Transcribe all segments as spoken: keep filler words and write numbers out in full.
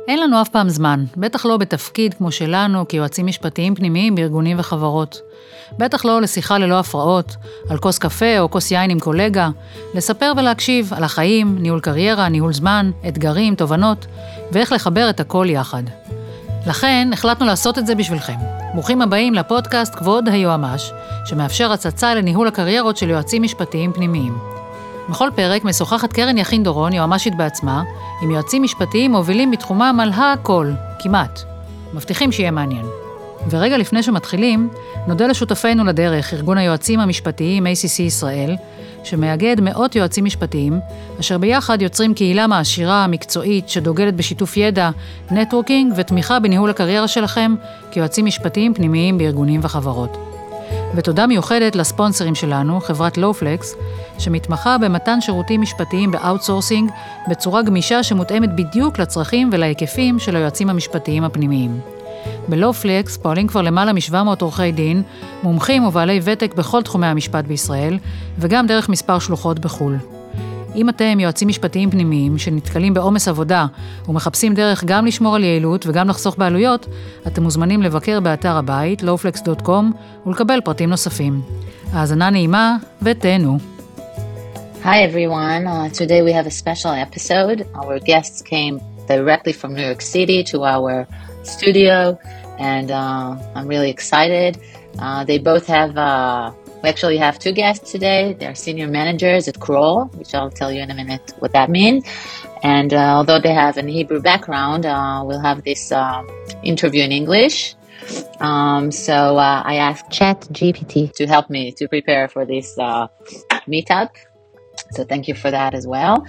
אין לנו אף פעם זמן, בטח לא בתפקיד כמו שלנו כיועצים משפטיים פנימיים בארגונים וחברות. בטח לא לשיחה ללא הפרעות, על כוס קפה או כוס יין עם קולגה, לספר ולהקשיב על החיים, ניהול קריירה, ניהול זמן, אתגרים, תובנות, ואיך לחבר את הכל יחד. לכן החלטנו לעשות את זה בשבילכם. ברוכים הבאים לפודקאסט כבוד היועמ"ש, שמאפשר הצצה לניהול הקריירות של יועצים משפטיים פנימיים. בכל פרק משוחחת קרן יכין דורון, יועמ"שית בעצמה, עם יועצים משפטיים מובילים בתחומם על הכל, כמעט. מבטיחים שיהיה מעניין. ורגע לפני שמתחילים, נודה לשותפינו לדרך, ארגון היועצים המשפטיים איי סי סי ישראל, שמאגד מאות יועצים משפטיים, אשר ביחד יוצרים קהילה מעשירה, מקצועית, שדוגלת בשיתוף ידע, נטוורקינג ותמיכה בניהול הקריירה שלכם, כיועצים משפטיים פנימיים בארגונים וחברות. ותודה מיוחדת לספונסרים שלנו, חברת לואופלקס, שמתמחה במתן שירותים משפטיים באוטסורסינג, בצורה גמישה שמותאמת בדיוק לצרכים ולהיקפים של היועצים המשפטיים הפנימיים. בלואופלקס פועלים כבר למעלה מ-שבע מאות עורכי דין, מומחים ובעלי ותק בכל תחומי המשפט בישראל, וגם דרך מספר שלוחות בחול. אם אתם יועצים משפטיים פנימיים שנתקלים בעומס עבודה ומחפשים דרך גם לשמור על יעילות וגם לחסוך בעלויות, אתם מוזמנים לבקר באתר הבית לואופלקס דוט קום ולקבל פרטים נוספים. האזנה נעימה ותהנו. Hi everyone, uh, today we have a special episode. Our guests came directly from New York City to our studio and uh, I'm really excited. Uh, they both have, uh, we actually have two guests today. They're senior managers at Kroll, which I'll tell you in a minute what that means. And uh, although they have an Hebrew background, uh, we'll have this uh, interview in English. Um, so uh, I asked ChatGPT to help me to prepare for this uh, meetup. So thank you for that as well.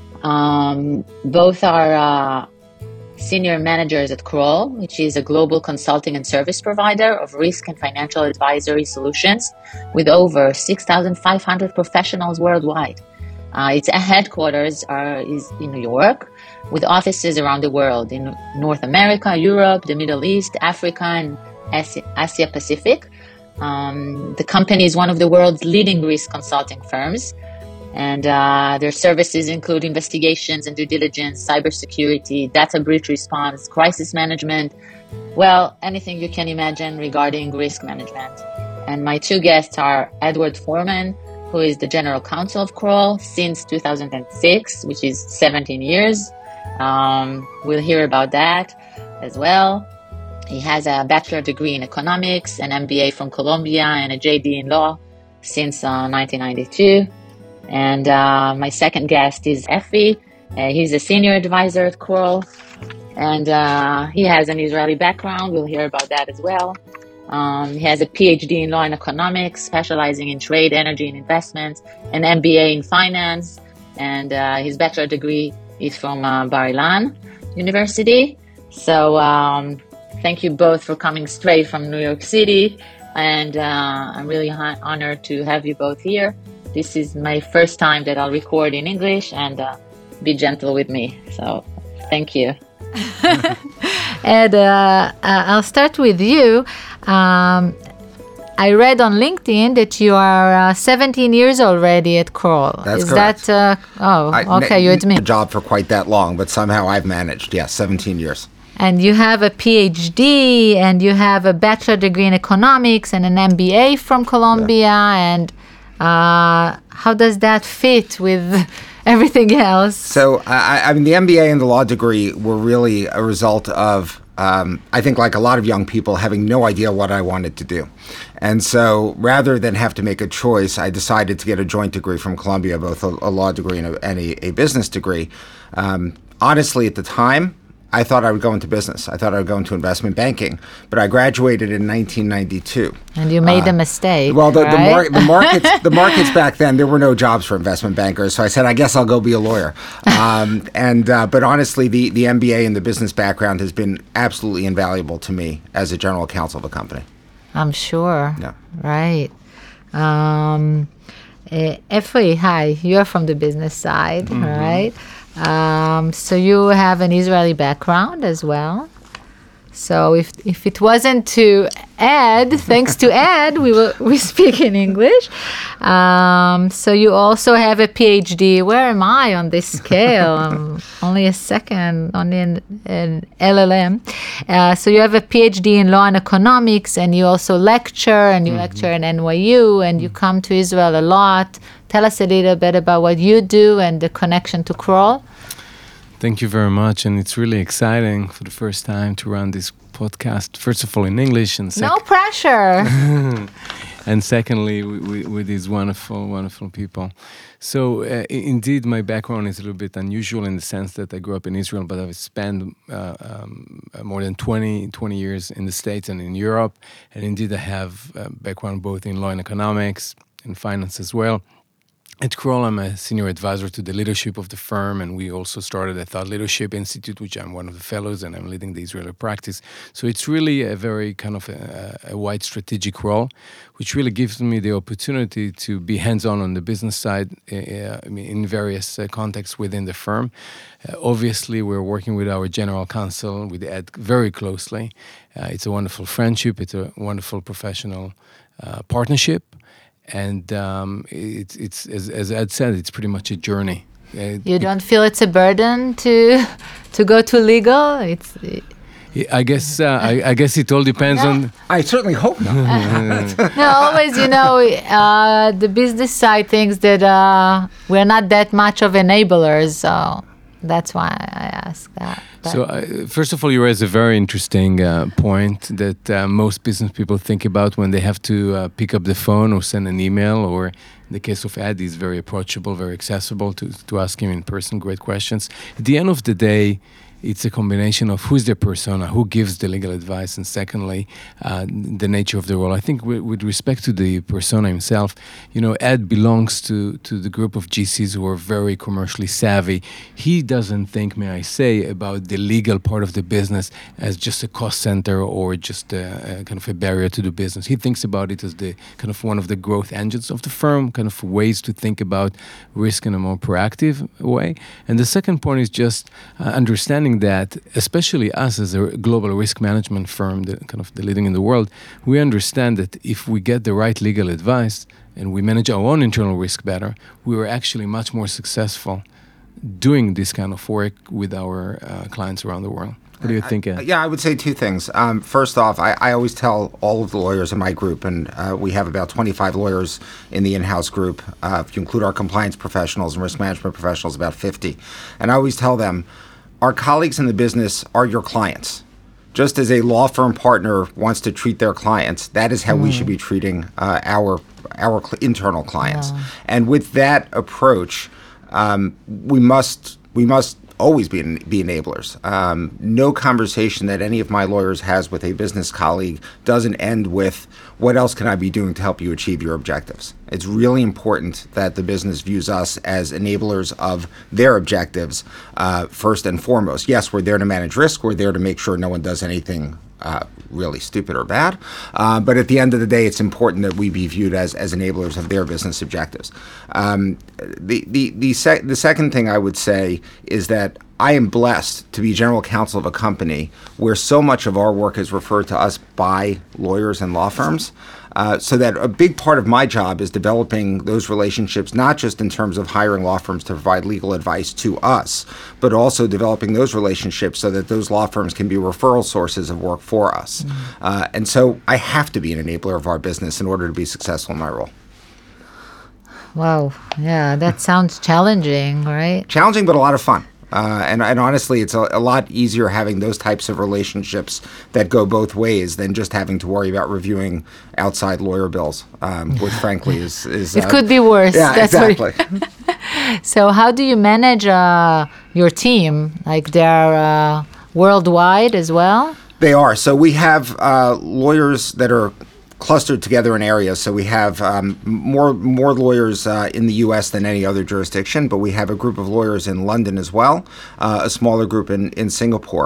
Um, both are uh, senior managers at Kroll, which is a global consulting and service provider of risk and financial advisory solutions with over six thousand five hundred professionals worldwide. Uh, its headquarters are is in New York, with offices around the world in North America, Europe, the Middle East, Africa, and Asia, Asia Pacific. Um, the company is one of the world's leading risk consulting firms. And uh, their services include investigations and due diligence, cybersecurity, data breach response, crisis management, well, anything you can imagine regarding risk management. And my two guests are Edward Foreman, who is the general counsel of Kroll since two thousand six, which is seventeen years. Um, we'll hear about that as well. He has a bachelor degree in economics, an M B A from Columbia, and a J D in law since uh, nineteen ninety-two. And uh, my second guest is Effie. Uh, he's a senior advisor at Kroll, and uh, he has an Israeli background. We'll hear about that as well. Um, he has a P H D in law and economics, specializing in trade, energy, and investments, an M B A in finance, and uh, his bachelor degree is from uh, Bar Ilan University. So um, thank you both for coming straight from New York City, and uh, I'm really ha- honored to have you both here. This is my first time that I'll record in English, and uh, be gentle with me. So, thank you. Ed, uh, I'll start with you. Um, I read on LinkedIn that you are uh, seventeen years already at Kroll. That's is correct. That, uh, oh, I, okay, you admit. A job for quite that long, but somehow I've managed. Yes, seventeen years. And you have a P H D, and you have a bachelor degree in economics, and an M B A from Columbia, yeah. and Uh, how does that fit with everything else? So, I, I mean, the M B A and the law degree were really a result of, um, I think, like a lot of young people, having no idea what I wanted to do. And so, rather than have to make a choice, I decided to get a joint degree from Columbia, both a, a law degree and, a, and a, a business degree. Um, honestly, at the time, I thought I would go into business. I thought I would go into investment banking, but I graduated in nineteen ninety-two. And you made uh, a mistake. Well, the, right? the, mar- the markets, the markets back then, there were no jobs for investment bankers. So I said, I guess I'll go be a lawyer. Um, and uh, but honestly, the the M B A and the business background has been absolutely invaluable to me as a general counsel of a company. I'm sure. Yeah. Right. Um, uh, Efri, hi. You're from the business side, mm-hmm. right? Um, so you have an Israeli background as well. So if if it wasn't to Ed, thanks to Ed, we will we speak in English. Um, so you also have a PhD. Where am I on this scale? I'm only a second, only an, an L L M. Uh, so you have a PhD in law and economics, and you also lecture, and you mm-hmm. lecture at N Y U, and you come to Israel a lot. Tell us a little bit about what you do and the connection to Kroll. Thank you very much, and it's really exciting for the first time to run this podcast. First of all, in English, and sec- no pressure. And secondly, we, we, with these wonderful, wonderful people. So, uh, indeed, my background is a little bit unusual in the sense that I grew up in Israel, but I've spent uh, um, more than twenty, twenty years in the States and in Europe. And indeed, I have a background both in law and economics and finance as well. At Kroll, I'm a senior advisor to the leadership of the firm, and we also started a Thought Leadership Institute, which I'm one of the fellows, and I'm leading the Israeli practice. So it's really a very kind of a, a wide strategic role, which really gives me the opportunity to be hands-on on the business side uh, I mean, in various uh, contexts within the firm. Uh, obviously, we're working with our general counsel, with Ed, very closely. Uh, it's a wonderful friendship. It's a wonderful professional uh, partnership. And um, it's, it's as, as Ed said, it's pretty much a journey. Uh, you don't feel it's a burden to to go to legal? It's. I guess uh, I, I guess it all depends no. on. I certainly hope not. No, always, you know, uh, the business side thinks that uh, we're not that much of enablers, so that's why I ask that. But so, uh, first of all, you raise a very interesting uh, point that uh, most business people think about when they have to uh, pick up the phone or send an email, or in the case of Ed, he's very approachable, very accessible to, to ask him in person great questions. At the end of the day, it's a combination of who's the persona, who gives the legal advice, and secondly, uh, the nature of the role. I think w- with respect to the persona himself, you know, Ed belongs to, to the group of G Cs who are very commercially savvy. He doesn't think, may I say, about the legal part of the business as just a cost center or just a, a kind of a barrier to do business. He thinks about it as the kind of one of the growth engines of the firm, kind of ways to think about risk in a more proactive way. And the second point is just uh, understanding that, especially us as a global risk management firm, the, kind of the leading in the world, we understand that if we get the right legal advice and we manage our own internal risk better, we are actually much more successful doing this kind of work with our uh, clients around the world. What do you think, Ed? I, yeah, I would say two things. Um, first off, I, I always tell all of the lawyers in my group, and uh, we have about twenty-five lawyers in the in-house group. Uh, if you include our compliance professionals and risk management professionals, about fifty. And I always tell them, our colleagues in the business are your clients. Just as a law firm partner wants to treat their clients, that is how mm. we should be treating uh, our our cl- internal clients. Yeah. And with that approach, um, we must we must always be be enablers. Um, no conversation that any of my lawyers has with a business colleague doesn't end with, what else can I be doing to help you achieve your objectives? It's really important that the business views us as enablers of their objectives uh, first and foremost. Yes, we're there to manage risk. We're there to make sure no one does anything uh, really stupid or bad. Uh, but at the end of the day, it's important that we be viewed as as enablers of their business objectives. Um, the the the, sec- the second thing I would say is that I am blessed to be general counsel of a company where so much of our work is referred to us by lawyers and law firms. Uh, so that a big part of my job is developing those relationships, not just in terms of hiring law firms to provide legal advice to us, but also developing those relationships so that those law firms can be referral sources of work for us. Mm-hmm. Uh, and so I have to be an enabler of our business in order to be successful in my role. Wow. Yeah, that sounds challenging, right? Challenging, but a lot of fun. Uh, and, and honestly, it's a, a lot easier having those types of relationships that go both ways than just having to worry about reviewing outside lawyer bills, um, which frankly is... is it uh, could be worse. Yeah, That's exactly. So how do you manage uh, your team? Like they're uh, worldwide as well? They are. So we have uh, lawyers that are clustered together in areas. So we have um, more more lawyers uh, in the U S than any other jurisdiction, but we have a group of lawyers in London as well, uh, a smaller group in, in Singapore.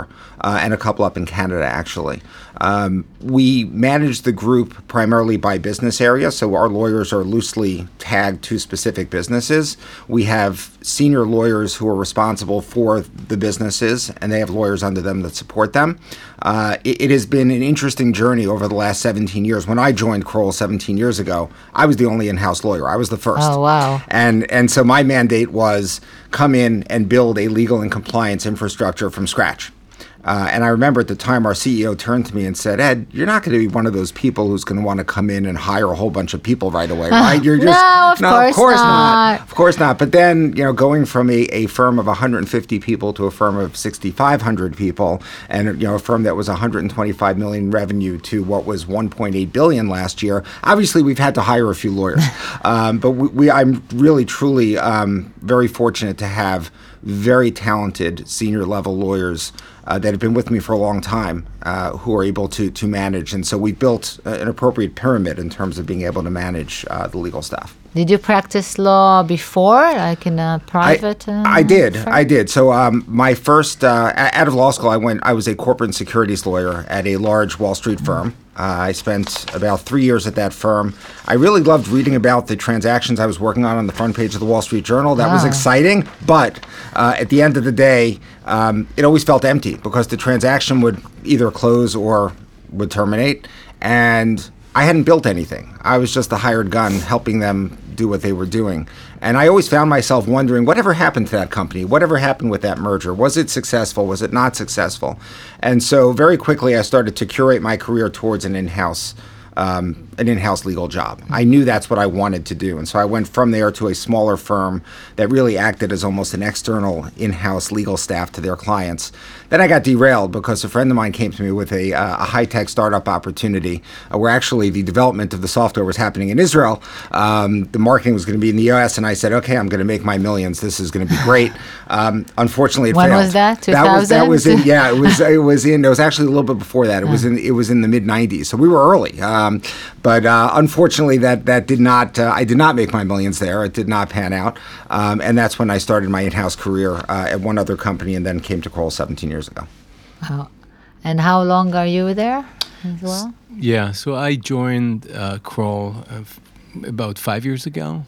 uh, and a couple up in Canada, actually. Um, we manage the group primarily by business area, so our lawyers are loosely tagged to specific businesses. We have senior lawyers who are responsible for the businesses, and they have lawyers under them that support them. Uh, it, it has been an interesting journey over the last seventeen years. When I joined Kroll seventeen years ago, I was the only in-house lawyer. I was the first. Oh, wow. And, and so my mandate was come in and build a legal and compliance infrastructure from scratch. Uh, and I remember at the time our C E O turned to me and said, Ed, you're not going to be one of those people who's going to want to come in and hire a whole bunch of people right away, right? You're just no, of no, course of course not. not. Of course not. But then, you know, going from a, a firm of one hundred fifty people to a firm of sixty-five hundred people, and you know, a firm that was one hundred twenty-five million revenue to what was one point eight billion last year. Obviously, we've had to hire a few lawyers, um, but we, we, I'm really, truly um, very fortunate to have very talented senior level lawyers uh, that have been with me for a long time uh, who are able to to manage. And so we built an appropriate pyramid in terms of being able to manage uh, the legal staff. Did you practice law before, like in a private? I, uh, I did. firm? I did. So um, my first, uh, out of law school, I went. I was a corporate and securities lawyer at a large Wall Street firm. Uh, I spent about three years at that firm. I really loved reading about the transactions I was working on on the front page of the Wall Street Journal. That was Ah. exciting. But uh, at the end of the day, um, it always felt empty because the transaction would either close or would terminate. And I hadn't built anything. I was just the hired gun helping them do what they were doing. And I always found myself wondering, whatever happened to that company? Whatever happened with that merger? Was it successful? Was it not successful? And so very quickly I started to curate my career towards an in-house um, an in-house legal job. I knew that's what I wanted to do. And so I went from there to a smaller firm that really acted as almost an external in-house legal staff to their clients. Then I got derailed because a friend of mine came to me with a, uh, a high-tech startup opportunity uh, where actually the development of the software was happening in Israel. Um, the marketing was going to be in the U S, and I said, okay, I'm going to make my millions. This is going to be great. Um, unfortunately, it When failed. was that? That was that was in two thousand? yeah. It was it was in. It was actually a little bit before that. It was in it was in the mid nineties. So we were early. Um, but uh, unfortunately, that that did not. Uh, I did not make my millions there. It did not pan out. Um, and that's when I started my in-house career uh, at one other company, and then came to Kroll seventeen years ago. Wow. And how long are you there as well? Yeah, so I joined uh, Kroll uh, f- about five years ago,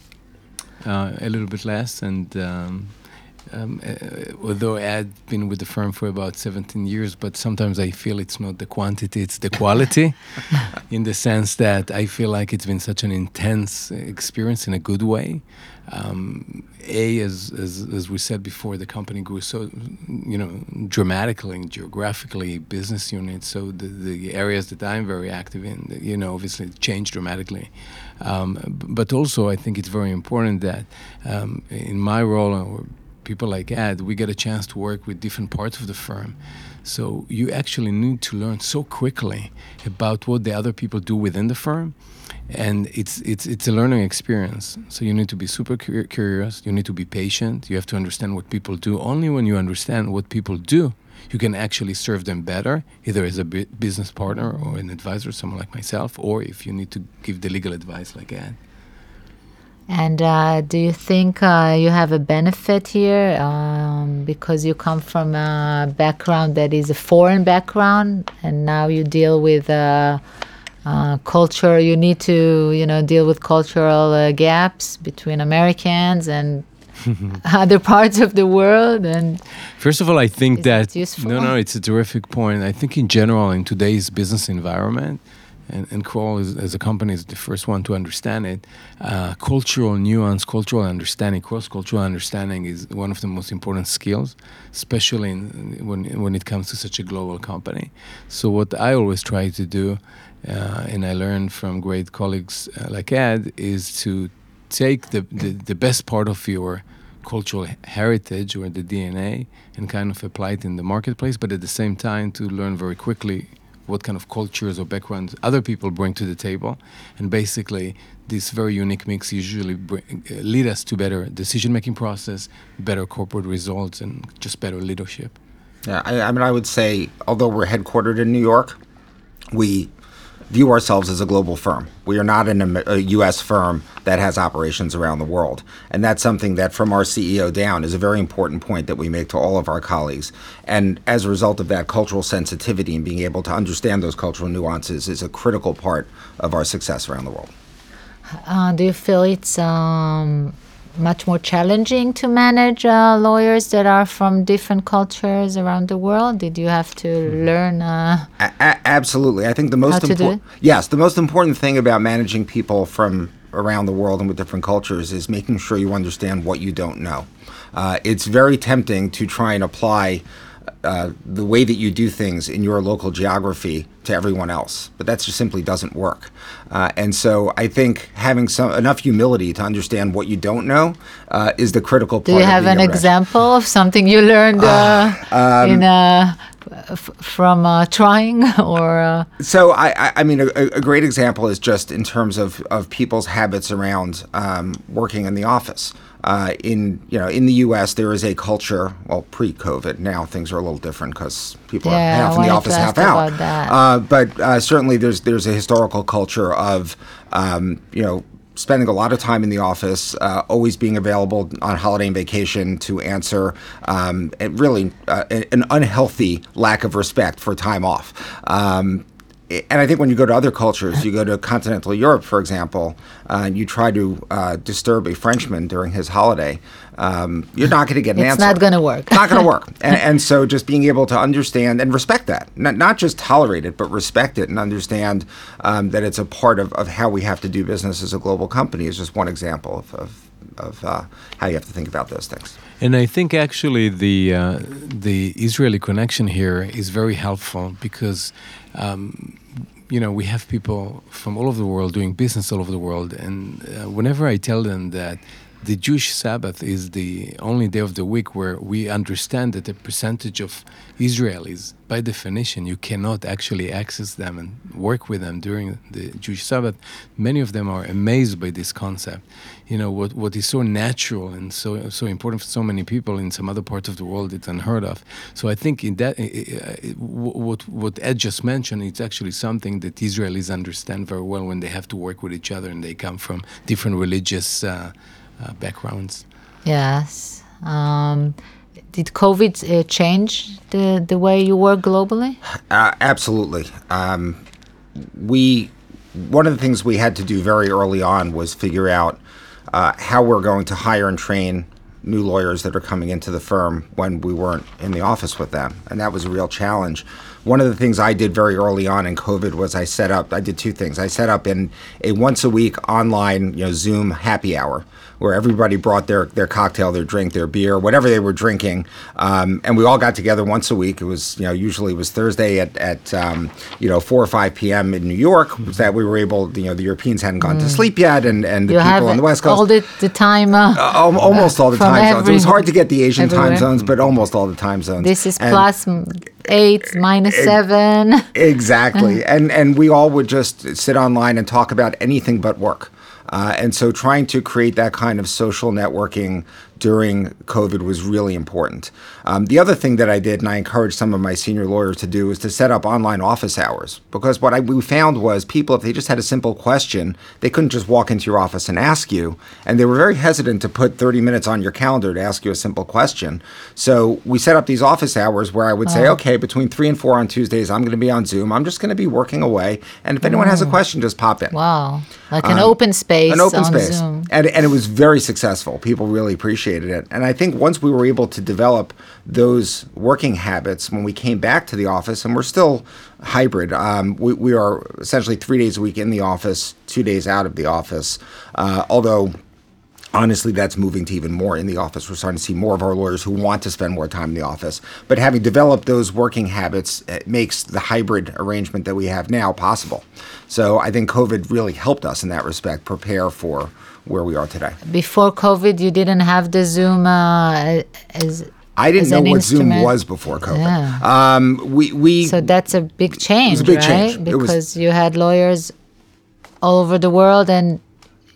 uh, a little bit less, and um, um, uh, although I'd been with the firm for about seventeen years, but sometimes I feel it's not the quantity, it's the quality, in the sense that I feel like it's been such an intense experience in a good way. Um, a, as, as as we said before, the company grew so, you know, dramatically, geographically, business units. So the, the areas that I'm very active in, you know, obviously changed dramatically. Um, b- but also, I think it's very important that um, in my role, or people like Ed, we get a chance to work with different parts of the firm. So you actually need to learn so quickly about what the other people do within the firm. And it's it's it's a learning experience. So you need to be super cur- curious. You need to be patient. You have to understand what people do. Only when you understand what people do, you can actually serve them better, either as a bu- business partner or an advisor, someone like myself, or if you need to give the legal advice like Ed. And uh, do you think uh, you have a benefit here um, because you come from a background that is a foreign background, and now you deal with uh, uh, culture? You need to, you know, deal with cultural uh, gaps between Americans and other parts of the world. And first of all, I think Is that it useful? no, no, it's a terrific point. I think in general, in today's business environment, and, and Kroll is, as a company is the first one to understand it. Uh, cultural nuance, cultural understanding, cross-cultural understanding is one of the most important skills, especially in, when when it comes to such a global company. So what I always try to do, uh, and I learned from great colleagues uh, like Ed, is to take the, the, the best part of your cultural heritage or the D N A and kind of apply it in the marketplace, but at the same time to learn very quickly what kind of cultures or backgrounds other people bring to the table. And basically, this very unique mix usually bring, uh, lead us to better decision-making process, better corporate results, and just better leadership. Yeah, I, I mean, I would say, although we're headquartered in New York, we view ourselves as a global firm. We are not an, a U S firm that has operations around the world. And that's something that from our C E O down is a very important point that we make to all of our colleagues. And as a result of that, cultural sensitivity and being able to understand those cultural nuances is a critical part of our success around the world. Uh, do you feel it's um, much more challenging to manage uh, lawyers that are from different cultures around the world? Did you have to learn? Uh, a- a- absolutely. I think the most how to do important. Yes, the most important thing about managing people from around the world and with different cultures is making sure you understand what you don't know. Uh, it's very tempting to try and apply uh, the way that you do things in your local geography to everyone else, but that just simply doesn't work. Uh, and so I think having some enough humility to understand what you don't know uh, is the critical part. Do you have of an being able to- example of something you learned uh, um, in uh, f- from uh, trying or? Uh, So I, I, I mean, a, a great example is just in terms of, of people's habits around um, working in the office. Uh, in you know, in the U S, there is a culture. Well, pre-COVID, now things are a little different because people Yeah, are I half in the wanted office, to half ask out. about that. Uh, but uh, certainly, there's there's a historical culture of um, you know. spending a lot of time in the office, uh, always being available on holiday and vacation to answer, um, and really uh, an unhealthy lack of respect for time off. Um, and I think when you go to other cultures, you go to continental Europe, for example, uh, and you try to uh, disturb a Frenchman during his holiday, um, you're not going to get an it's answer. not going to work. Not going to work. And, and so just being able to understand and respect that, not, not just tolerate it, but respect it and understand um, that it's a part of, of how we have to do business as a global company is just one example of, of, of uh, how you have to think about those things. And I think actually the uh, the Israeli connection here is very helpful because, um, you know, we have people from all over the world doing business all over the world. And uh, whenever I tell them that the Jewish Sabbath is the only day of the week where we understand that the percentage of Israelis, by definition, you cannot actually access them and work with them during the Jewish Sabbath. Many of them are amazed by this concept. You know, what what is so natural and so so important for so many people in some other parts of the world, it's unheard of. So I think in that, uh, what what Ed just mentioned, it's actually something that Israelis understand very well when they have to work with each other and they come from different religious uh, uh, backgrounds. Yes. Um, did COVID uh, change the, the way you work globally? Uh, absolutely. Um, we one of the things we had to do very early on was figure out uh, how we're going to hire and train new lawyers that are coming into the firm when we weren't in the office with them, and that was a real challenge. One of the things I did very early on in COVID was I set up, I did two things. I set up in a once a week online, you know, Zoom happy hour where everybody brought their, their cocktail, their drink, their beer, whatever they were drinking. Um, and we all got together once a week. It was, you know, usually it was Thursday at, at um, you know, four or five p.m. in New York that we were able, you know, the Europeans hadn't gone mm. to sleep yet and, and the you people on the West Coast. all the, the time. Uh, uh, almost all the time every, zones. It was hard to get the Asian everywhere. time zones, but almost all the time zones. This is and plus eight, minus it, seven. Exactly. and and we all would just sit online and talk about anything but work. Uh, and so trying to create that kind of social networking during COVID was really important. Um, the other thing that I did, and I encouraged some of my senior lawyers to do, is to set up online office hours. Because what I, we found was people, if they just had a simple question, they couldn't just walk into your office and ask you. And they were very hesitant to put thirty minutes on your calendar to ask you a simple question. So we set up these office hours where I would say, Oh. okay, between three and four on Tuesdays, I'm going to be on Zoom. I'm just going to be working away. And if anyone has a question, just pop in. Wow. Like an Um, open space An open on space. Zoom. And, and it was very successful. People really appreciated it. And I think once we were able to develop those working habits when we came back to the office, and we're still hybrid, um, we, we are essentially three days a week in the office, two days out of the office, uh, although honestly, that's moving to even more in the office. We're starting to see more of our lawyers who want to spend more time in the office. But having developed those working habits, it makes the hybrid arrangement that we have now possible. So I think COVID really helped us in that respect prepare for where we are today. Before COVID, you didn't have the Zoom uh, as I didn't as know an what Zoom instrument. was before COVID. Yeah. Um, we, we So that's a big change, It was a big right? change. It was- Because you had lawyers all over the world and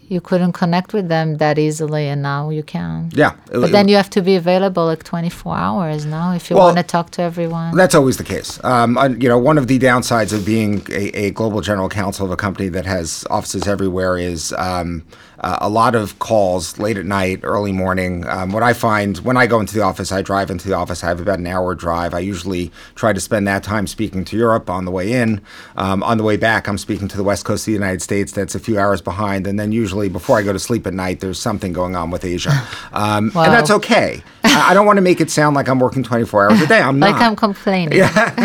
you couldn't connect with them that easily, and now you can. Yeah. But then you have to be available like twenty-four hours now if you Well, want to talk to everyone. That's always the case. Um, you know, one of the downsides of being a, a global general counsel of a company that has offices everywhere is um, uh, a lot of calls late at night, early morning. Um, what I find when I go into the office, I drive into the office. I have about an hour drive. I usually try to spend that time speaking to Europe on the way in. Um, on the way back, I'm speaking to the West Coast of the United States. That's a few hours behind. And then usually before I go to sleep at night, there's something going on with Asia. Um, Wow. And that's okay. I, I don't want to make it sound like I'm working twenty-four hours a day. I'm not. Like I'm complaining.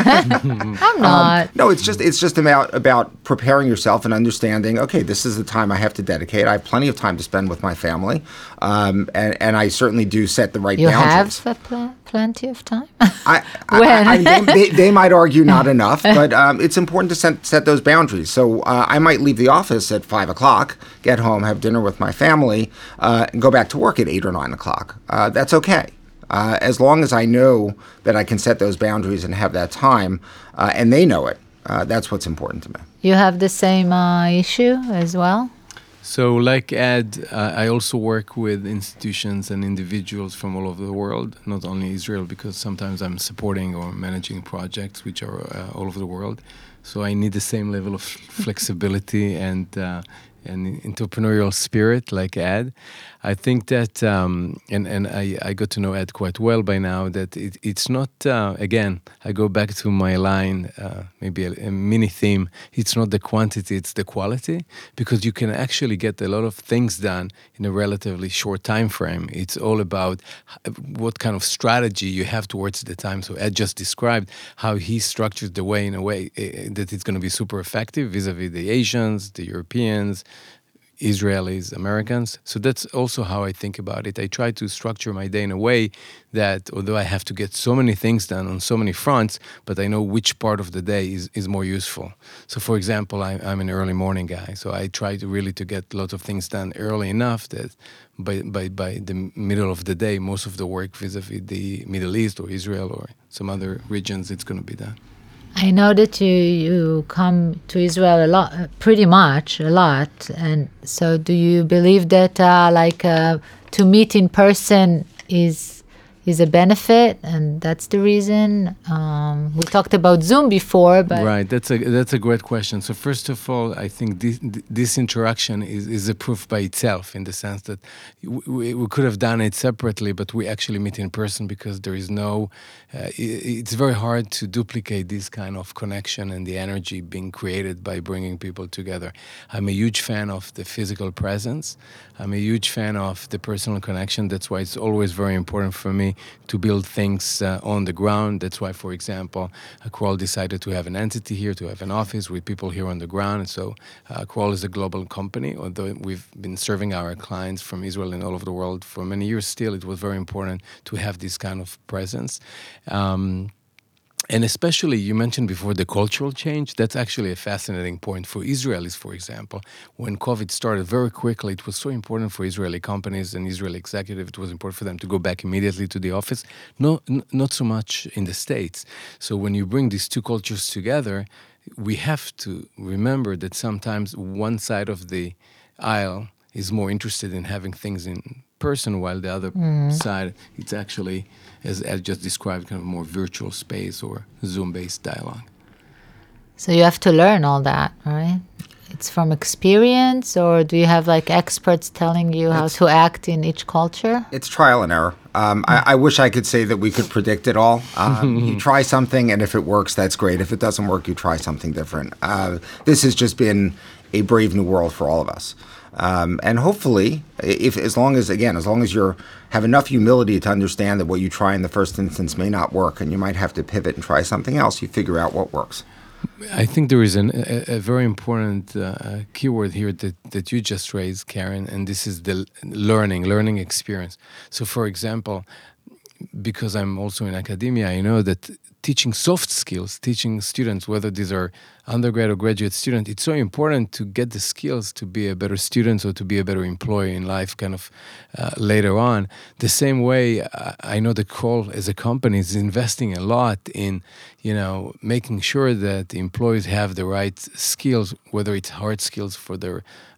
I'm not. Um, no, it's just it's just about about preparing yourself and understanding. Okay, this is the time I have to dedicate. I have plenty of time to spend with my family, um, and and I certainly do set the right You boundaries. have a pl- plenty of time. I, I, When? I, I, they, they, they might argue not enough, but um, it's important to set, set those boundaries. So uh, I might leave the office at five o'clock, get home, have dinner with my family, uh, and go back to work at eight or nine o'clock. Uh, that's okay. Uh, as long as I know that I can set those boundaries and have that time, uh, and they know it, uh, that's what's important to me. You have the same uh, issue as well? So, like Ed, uh, I also work with institutions and individuals from all over the world, not only Israel, because sometimes I'm supporting or managing projects which are uh, all over the world. So I need the same level of flexibility and uh, and entrepreneurial spirit like Ed. I think that, um, and, and I, I got to know Ed quite well by now, that it, it's not, uh, again, I go back to my line, uh, maybe a, a mini theme, it's not the quantity, it's the quality, because you can actually get a lot of things done in a relatively short time frame. It's all about what kind of strategy you have towards the time. So Ed just described how he structures the way in a way uh, that it's going to be super effective vis-a-vis the Asians, the Europeans, Israelis, Americans. So that's also how I think about it. I try to structure my day in a way that although I have to get so many things done on so many fronts, but I know which part of the day is, is more useful. So for example, I, I'm an early morning guy. So I try to really to get lots of things done early enough that by, by, by the middle of the day, most of the work vis-a-vis the Middle East or Israel or some other regions, it's going to be done. I know that you, you come to Israel a lot, pretty much a lot. And so do you believe that uh, like uh, to meet in person is is a benefit, and that's the reason? Um, we talked about Zoom before, but... Right, that's a that's a great question. So first of all, I think this, this interaction is, is a proof by itself in the sense that we, we could have done it separately, but we actually meet in person because there is no... Uh, it, it's very hard to duplicate this kind of connection and the energy being created by bringing people together. I'm a huge fan of the physical presence. I'm a huge fan of the personal connection. That's why it's always very important for me to build things uh, on the ground. That's why, for example, uh, Kroll decided to have an entity here, to have an office with people here on the ground. And so uh, Kroll is a global company. Although we've been serving our clients from Israel and all over the world for many years still, it was very important to have this kind of presence. Um, And especially, you mentioned before the cultural change. That's actually a fascinating point for Israelis, for example. When COVID started very quickly, it was so important for Israeli companies and Israeli executives. It was important for them to go back immediately to the office. No, n- not so much in the States. So when you bring these two cultures together, we have to remember that sometimes one side of the aisle is more interested in having things in person, while the other mm. side, it's actually, as Ed just described, kind of more virtual space or Zoom-based dialogue. So you have to learn all that, right? It's from experience, or do you have like experts telling you how it's, to act in each culture? It's trial and error. Um, I, I wish I could say that we could predict it all. Um, you try something, and if it works, that's great. If it doesn't work, you try something different. Uh, this has just been a brave new world for all of us. Um, and hopefully, if as long as, again, as long as you have enough humility to understand that what you try in the first instance may not work, and you might have to pivot and try something else, you figure out what works. I think there is an, a, a very important uh, keyword here that, that you just raised, Karen, and this is the learning, learning experience. So, for example, because I'm also in academia, I know that teaching soft skills, teaching students, whether these are undergrad or graduate students, it's so important to get the skills to be a better student or to be a better employee in life kind of uh, later on. The same way, I, I know that Kroll as a company is investing a lot in, you know, making sure that the employees have the right skills, whether it's hard skills for their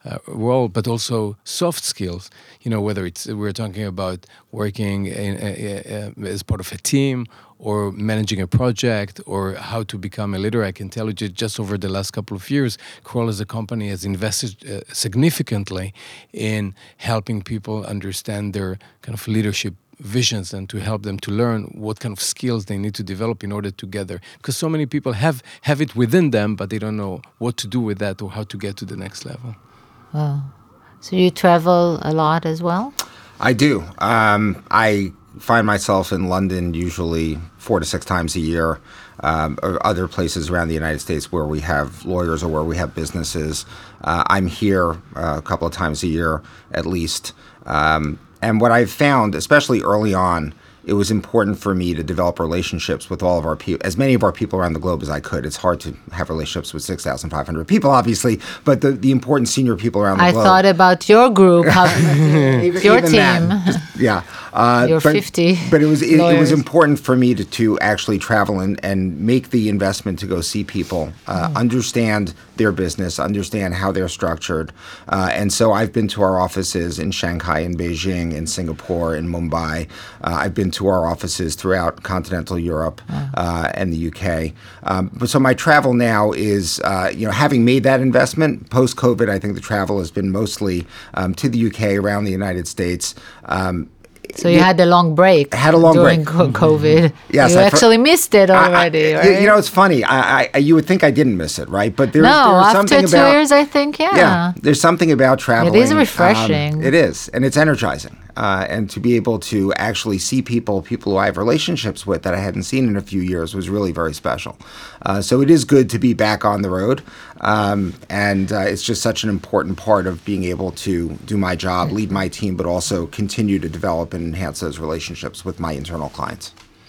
uh, role, but also soft skills. You know, whether it's we're talking about working in, uh, uh, as part of a team, or managing a project, or how to become a leader. I can tell you just over the last couple of years, Kroll as a company has invested uh, significantly in helping people understand their kind of leadership visions and to help them to learn what kind of skills they need to develop in order to get there. Because so many people have, have it within them, but they don't know what to do with that or how to get to the next level. Wow. So you travel a lot as well? I do. Um, I find myself in London usually four to six times a year, um, or other places around the United States where we have lawyers or where we have businesses. Uh, I'm here uh, a couple of times a year at least. Um, and what I've found, especially early on, it was important for me to develop relationships with all of our people, as many of our people around the globe as I could. It's hard to have relationships with six thousand five hundred people, obviously, but the, the important senior people around the I globe. I thought about your group, how, even, your even team. That, just, yeah. Uh, Your but, fifty But it was it, it was lawyers. important for me to, to actually travel and, and make the investment to go see people, uh, mm. understand their business, understand how they're structured. Uh, and so I've been to our offices in Shanghai, in Beijing, in Singapore, in Mumbai. Uh, I've been to our offices throughout continental Europe wow. uh, and the U K. Um, but so my travel now is, uh, you know, having made that investment post-COVID, I think the travel has been mostly um, to the U K, around the United States. Um, So you had a long break. I had a long during break. co- COVID. Yes, you I actually missed it already, I, I, right? You know, it's funny. I, I, you would think I didn't miss it, right? But there's, no, there's after something two about, years, I think, yeah. Yeah, there's something about traveling. It is refreshing. Um, it is, and it's energizing. Uh, and to be able to actually see people, people who I have relationships with that I hadn't seen in a few years was really very special. Uh, so it is good to be back on the road. Um, and uh, it's just such an important part of being able to do my job, lead my team, but also continue to develop and enhance those relationships with my internal clients.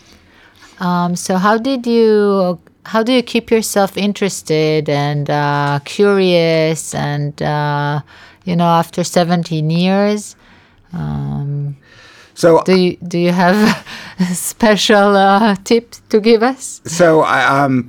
Um, so how did you, how do you keep yourself interested and uh, curious and, uh, you know, after seventeen years? Um, so do you, do you have special uh, tips to give us? So I, um,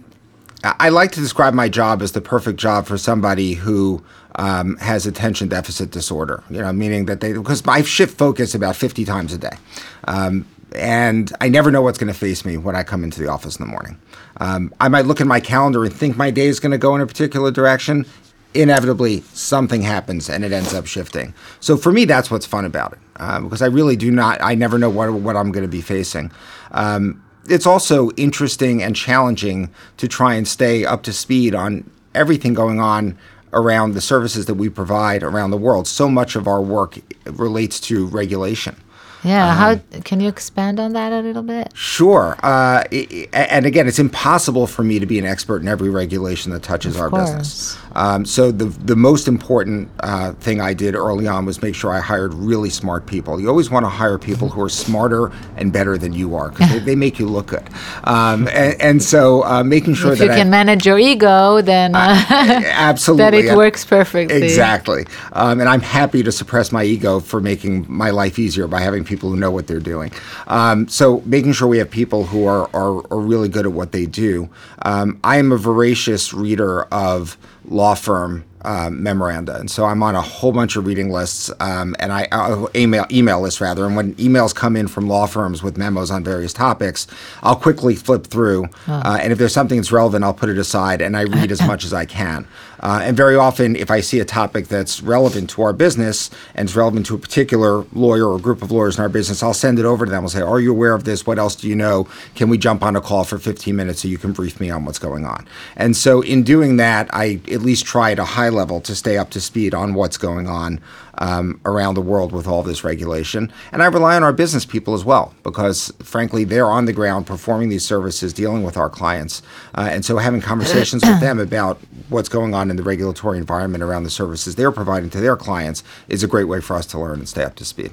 I like to describe my job as the perfect job for somebody who um, has attention deficit disorder. You know, meaning that they, because I shift focus about fifty times a day. Um, And I never know what's going to face me when I come into the office in the morning. Um, I might look at my calendar and think my day is going to go in a particular direction. Inevitably, something happens and it ends up shifting. So for me, that's what's fun about it, uh, because I really do not, I never know what, what I'm going to be facing. Um, it's also interesting and challenging to try and stay up to speed on everything going on around the services that we provide around the world. So much of our work relates to regulation. Yeah, Um, how can you expand on that a little bit? Sure. Uh, it, and again, it's impossible for me to be an expert in every regulation that touches Of our course. business. Um, so the the most important uh, thing I did early on was make sure I hired really smart people. You always want to hire people who are smarter and better than you are, because they, they make you look good. Um, and, and so uh, making sure If that you I, can manage your ego, then uh, absolutely that it works perfectly. Exactly. Um, and I'm happy to suppress my ego for making my life easier by having people who know what they're doing. Um, so making sure we have people who are, are, are really good at what they do. Um, I am a voracious reader of law firm um, memoranda, and so I'm on a whole bunch of reading lists, um, and I uh, email email lists rather. And when emails come in from law firms with memos on various topics, I'll quickly flip through, uh, and if there's something that's relevant, I'll put it aside and I read as much as I can. Uh, and very often, if I see a topic that's relevant to our business and it's relevant to a particular lawyer or group of lawyers in our business, I'll send it over to them. I'll say, "Are you aware of this? What else do you know? Can we jump on a call for fifteen minutes so you can brief me on what's going on?" And so in doing that, I at least try at a high level to stay up to speed on what's going on um, around the world with all this regulation. And I rely on our business people as well, because frankly, they're on the ground performing these services, dealing with our clients. Uh, and so having conversations with them about what's going on in the regulatory environment around the services they're providing to their clients is a great way for us to learn and stay up to speed.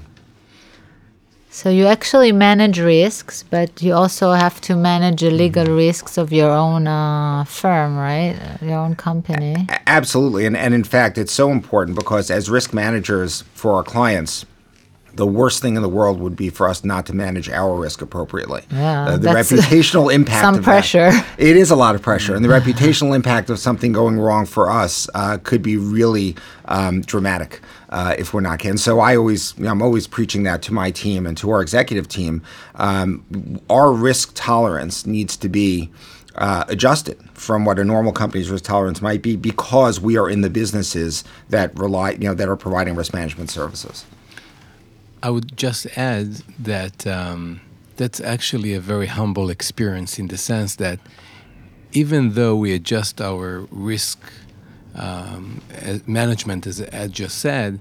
So you actually manage risks, but you also have to manage the legal risks of your own uh, firm, right? Your own company. A- absolutely. And, and in fact, it's so important because as risk managers for our clients, the worst thing in the world would be for us not to manage our risk appropriately. Yeah, uh, the that's reputational impact some of pressure. That, it is a lot of pressure, and the reputational impact of something going wrong for us uh, could be really um, dramatic uh, if we're not careful. And so I always, you know, I'm always preaching that to my team and to our executive team. Um, our risk tolerance needs to be Uh, adjusted from what a normal company's risk tolerance might be, because we are in the businesses that rely, you know, that are providing risk management services. I would just add that um, that's actually a very humble experience, in the sense that even though we adjust our risk um, management, as Ed just said,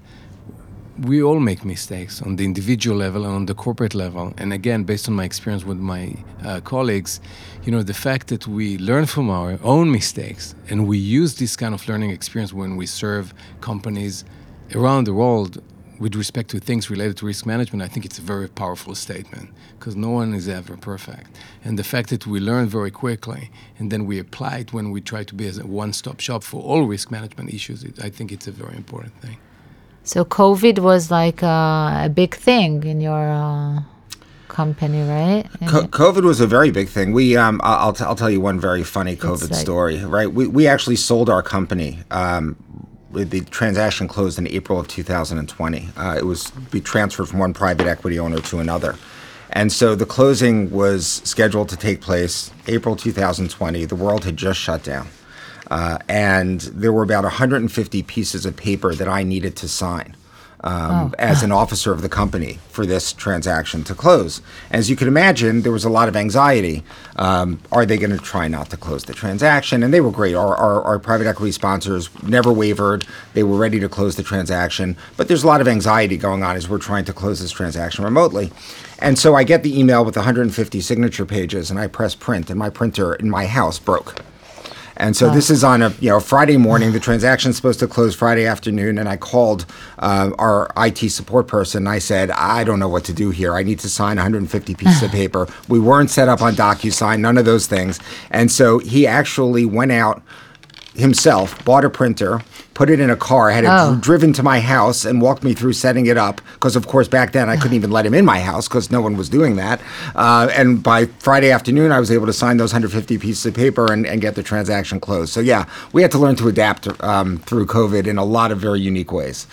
we all make mistakes on the individual level and on the corporate level. And again, based on my experience with my uh, colleagues, you know, the fact that we learn from our own mistakes and we use this kind of learning experience when we serve companies around the world with respect to things related to risk management, I think it's a very powerful statement, because no one is ever perfect. And the fact that we learn very quickly and then we apply it when we try to be as a one-stop shop for all risk management issues, it, I think it's a very important thing. So COVID was like uh, a big thing in your uh, company, right? Co- COVID was a very big thing. We, um, I'll, t- I'll tell you one very funny COVID like, story, right? We we actually sold our company. Um, the transaction closed in April of two thousand twenty. Uh, it was we transferred from one private equity owner to another. And so the closing was scheduled to take place April two thousand twenty. The world had just shut down. Uh, and there were about one hundred fifty pieces of paper that I needed to sign um, oh. as an officer of the company for this transaction to close. As you can imagine, there was a lot of anxiety. Um, are they going to try not to close the transaction? And they were great. Our, our, our private equity sponsors never wavered. They were ready to close the transaction. But there's a lot of anxiety going on as we're trying to close this transaction remotely. And so I get the email with one hundred fifty signature pages, and I press print, and my printer in my house broke. And so oh. this is on a you know Friday morning. The transaction's supposed to close Friday afternoon, and I called uh, our I T support person. And I said, I don't know what to do here. I need to sign one hundred fifty pieces of paper. We weren't set up on DocuSign, none of those things. And so he actually went out himself, bought a printer, put it in a car, had it oh. dr- driven to my house and walked me through setting it up. Because, of course, back then I couldn't even let him in my house because no one was doing that. Uh, and by Friday afternoon, I was able to sign those one hundred fifty pieces of paper and, and get the transaction closed. So, yeah, we had to learn to adapt um, through COVID in a lot of very unique ways.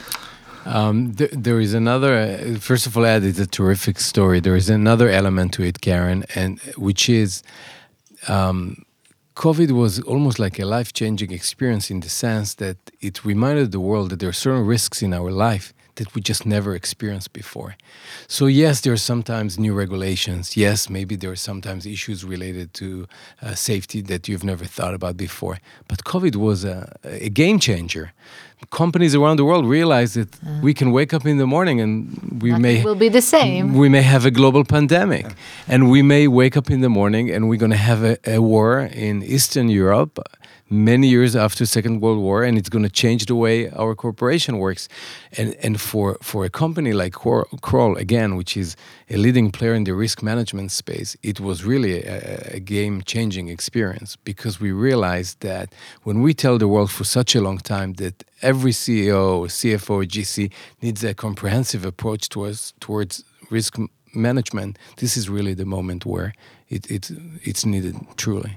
Um, th- there is another, uh, first of all, Ed, it's a terrific story. There is another element to it, Karen, and which is... Um, COVID was almost like a life-changing experience, in the sense that it reminded the world that there are certain risks in our life that we just never experienced before. So yes, there are sometimes new regulations. Yes, maybe there are sometimes issues related to uh, safety that you've never thought about before. But COVID was a, a game changer. Companies around the world realized that uh, we can wake up in the morning and we may will be the same. We may have a global pandemic, and we may wake up in the morning and we're going to have a, a war in Eastern Europe many years after Second World War, and it's going to change the way our corporation works. And and for, for a company like Kroll, again, which is a leading player in the risk management space, it was really a, a game-changing experience, because we realized that when we tell the world for such a long time that every C E O, C F O, or G C needs a comprehensive approach towards towards risk management, this is really the moment where it, it it's needed, truly.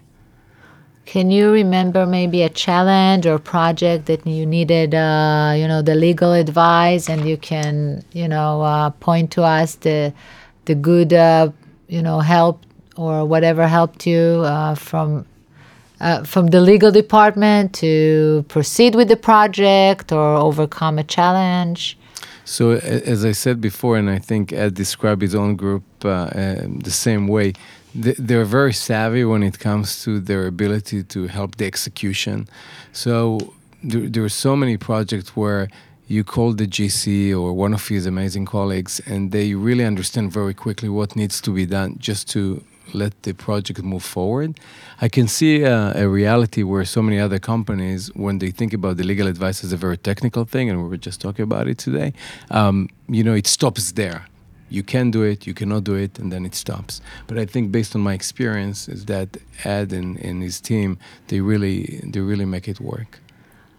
Can you remember maybe a challenge or project that you needed, uh, you know, the legal advice, and you can, you know, uh, point to us the the good, uh, you know, help or whatever helped you uh, from uh, from the legal department to proceed with the project or overcome a challenge? So, as I said before, and I think Ed described his own group uh, uh, the same way, they're very savvy when it comes to their ability to help the execution. So there, there are so many projects where you call the G C or one of his amazing colleagues, and they really understand very quickly what needs to be done just to let the project move forward. I can see uh, a reality where so many other companies, when they think about the legal advice as a very technical thing, and we were just talking about it today, um, you know, it stops there. You can do it, you cannot do it, and then it stops. But I think, based on my experience, is that Ed and, and his team, they really they really make it work.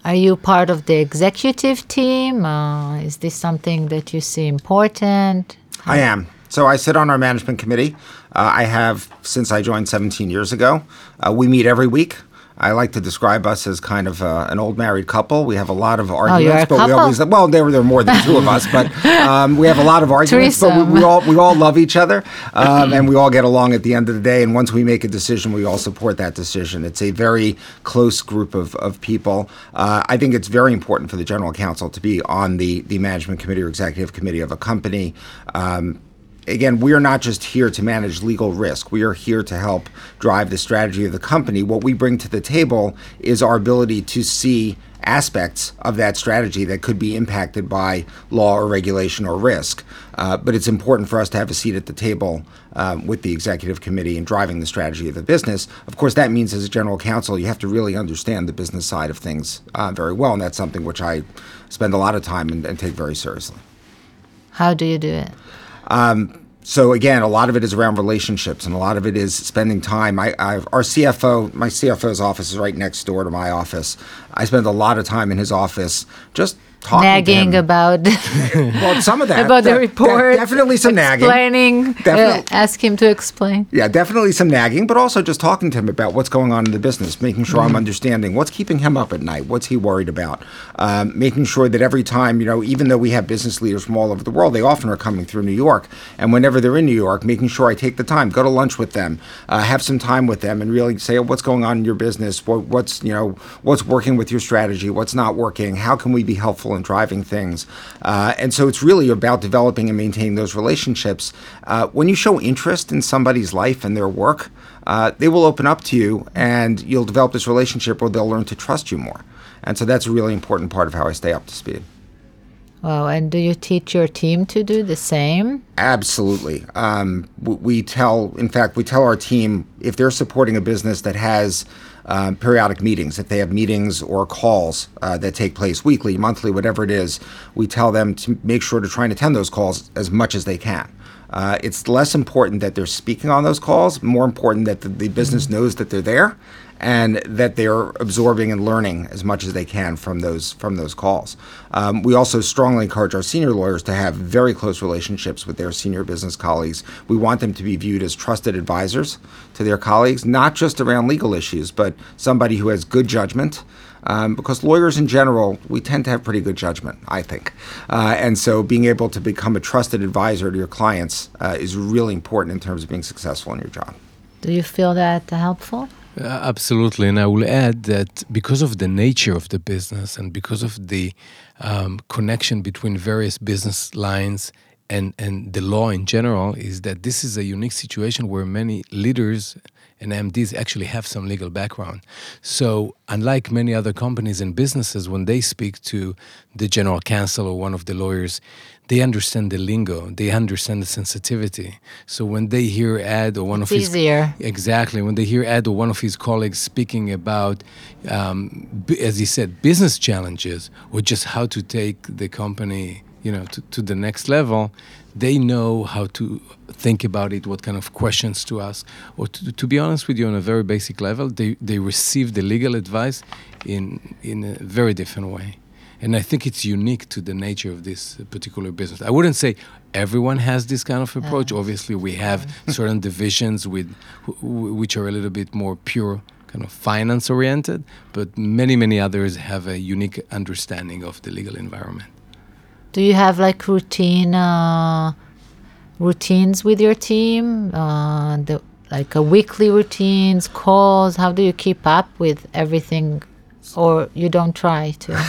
Are you part of the executive team? Uh, is this something that you see important? I am. So I sit on our management committee. Uh, I have since I joined seventeen years ago. Uh, we meet every week. I like to describe us as kind of uh, an old married couple. We have a lot of arguments, oh, you're a but couple? we always well there there are more than two of us, but um, we have a lot of arguments. But we, we all we all love each other, um, and we all get along at the end of the day. And once we make a decision, we all support that decision. It's a very close group of of people. Uh, I think it's very important for the general counsel to be on the the management committee or executive committee of a company. Um, Again, we are not just here to manage legal risk. We are here to help drive the strategy of the company. What we bring to the table is our ability to see aspects of that strategy that could be impacted by law or regulation or risk. Uh, but it's important for us to have a seat at the table um, with the executive committee in driving the strategy of the business. Of course, that means as a general counsel, you have to really understand the business side of things uh, very well. And that's something which I spend a lot of time and, and take very seriously. How do you do it? Um, so again, a lot of it is around relationships, and a lot of it is spending time. I, I, our C F O, my C F O's office is right next door to my office. I spend a lot of time in his office just talking nagging to him. about well, some of that about de- the report. De- definitely some explaining, nagging. Definitely. Uh, ask him to explain. Yeah, definitely some nagging, but also just talking to him about what's going on in the business, making sure mm-hmm. I'm understanding what's keeping him up at night, what's he worried about, um, making sure that every time, you know, even though we have business leaders from all over the world, they often are coming through New York, and whenever they're in New York, making sure I take the time, go to lunch with them, uh, have some time with them, and really say what's going on in your business, what, what's you know what's working with your strategy, what's not working, how can we be helpful in driving things. Uh, and so it's really about developing and maintaining those relationships. Uh, when you show interest in somebody's life and their work, uh, they will open up to you, and you'll develop this relationship where they'll learn to trust you more. And so that's a really important part of how I stay up to speed. Wow, and do you teach your team to do the same? Absolutely. Um, we tell, in fact, we tell our team if they're supporting a business that has um, periodic meetings, if they have meetings or calls uh, that take place weekly, monthly, whatever it is, we tell them to make sure to try and attend those calls as much as they can. Uh, it's less important that they're speaking on those calls, more important that the, the business knows that they're there and that they're absorbing and learning as much as they can from those from those calls. Um, we also strongly encourage our senior lawyers to have very close relationships with their senior business colleagues. We want them to be viewed as trusted advisors to their colleagues, not just around legal issues, but somebody who has good judgment. Um, because lawyers in general, we tend to have pretty good judgment, I think. Uh, and so being able to become a trusted advisor to your clients uh, is really important in terms of being successful in your job. Do you feel that helpful? Uh, absolutely. And I will add that because of the nature of the business and because of the um, connection between various business lines and, and the law in general, is that this is a unique situation where many leaders and M Ds actually have some legal background. So unlike many other companies and businesses, when they speak to the general counsel or one of the lawyers, they understand the lingo, they understand the sensitivity. So when they hear Ed or one it's of his... easier. Exactly. When they hear Ed or one of his colleagues speaking about, um, b- as he said, business challenges or just how to take the company, you know, to, to the next level, they know how to think about it, what kind of questions to ask. Or to, to be honest with you, on a very basic level, they, they receive the legal advice in in a very different way. And I think it's unique to the nature of this particular business. I wouldn't say everyone has this kind of approach. Uh, Obviously, we have certain divisions with w- which are a little bit more pure, kind of finance-oriented, but many, many others have a unique understanding of the legal environment. Do you have like routine uh, routines with your team? Uh, the, like a weekly routines, calls? How do you keep up with everything? Or you don't try